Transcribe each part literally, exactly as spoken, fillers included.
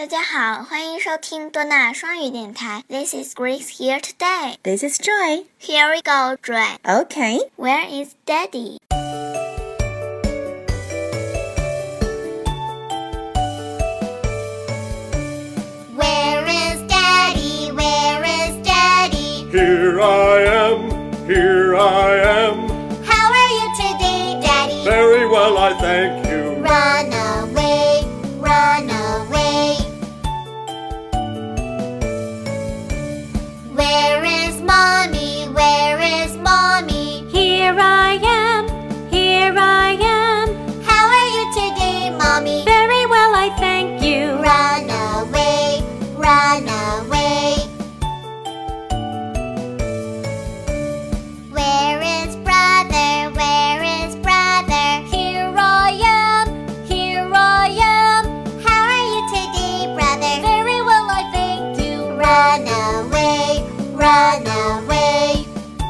大家好，欢迎收听多纳双语电台。This is Grace here today. This is Joy. Here we go, Joy. Okay. Where is Daddy? Where is Daddy? Where is Daddy? Here I am, here I am. How are you today, Daddy? Very well, I thank you. Run away, run away. Where is Mommy? Where is Mommy? Here I am, here I am. How are you today, Mommy? Very well, I thank you. Run away, run away. Where is brother? Where is brother? Here I am, here I am. How are you today, brother? Very well, I thank you. Run away, run away.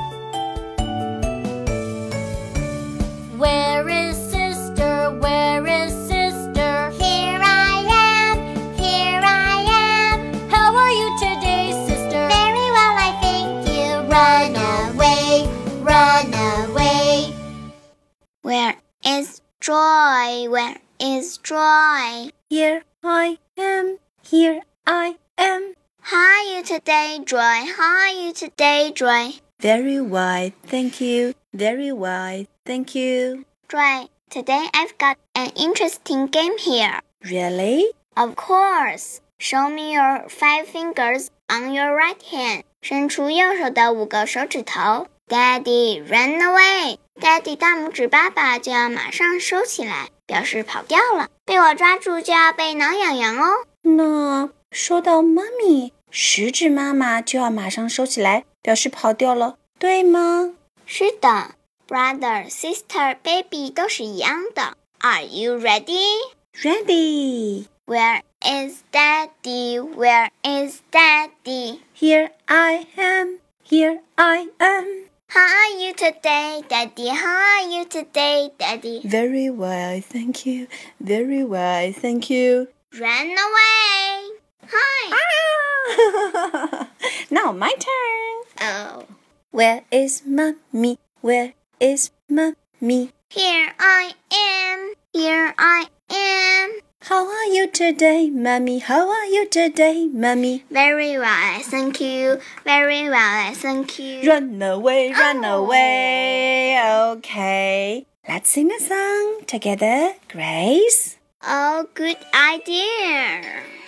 Where is sister? Where is sister? Here I am, here I am. How are you today, sister? Very well, I thank you. Run away, run away. Where is Joy? Where is Joy? Here I am. Here I am. How are you today, Joy? How are you today, Joy? Very well, thank you. Very well, thank you. Joy, today I've got an interesting game here. Really? Of course. Show me your five fingers on your right hand. 伸出右手的五个手指头。Daddy, run away. Daddy 大拇指爸爸就要马上收起来，表示跑掉了。被我抓住就要被挠痒痒哦。 那说到妈咪，食指妈妈就要马上收起来，表示跑掉了，对吗？ 是的 ，brother, sister, baby 都是一样的。Are you ready? Ready. Where is Daddy? Where is Daddy? Here I am. Here I am. How are you today, Daddy? How are you today, Daddy? Very well, thank you. Very well, thank you. Run away. Hi. Ah! Now my turn. Oh. Where is mommy? Where is mommy? Here I am. Here I am. How are you today, mommy? How are you today, mommy? Very well, thank you. Very well, thank you. Run away, run Oh. away. Okay. Let's sing a song together, Grace. Oh, good idea.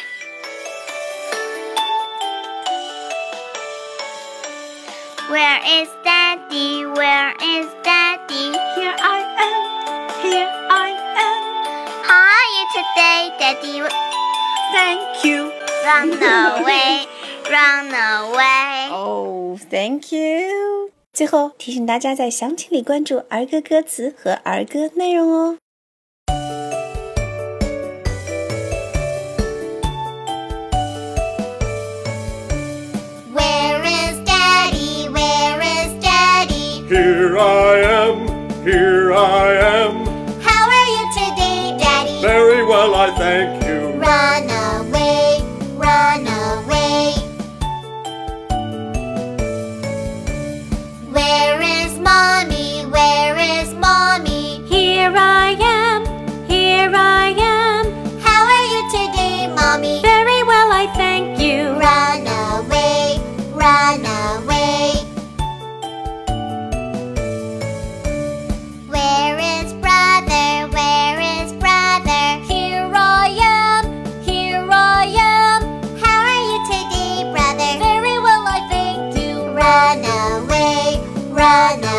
Where is Daddy? Where is Daddy? Here I am, here I am. How are you today, Daddy? Thank you. Run away, run away. Oh, thank you. 最后提醒大家在详情里关注儿歌歌词和儿歌内容哦。 Where is Daddy? Where is Daddy? Here I am, here I am. How are you today, Daddy? Very well, I thank you. Run away, run away. Where is Mommy? Where is Mommy? Here I am, here I am. How are you today, Mommy? Very well, I thank you. Run away, run away. Where is brother? Where is brother? Here I am, here I am. How are you today, brother? Very well, I thank you. Run away, run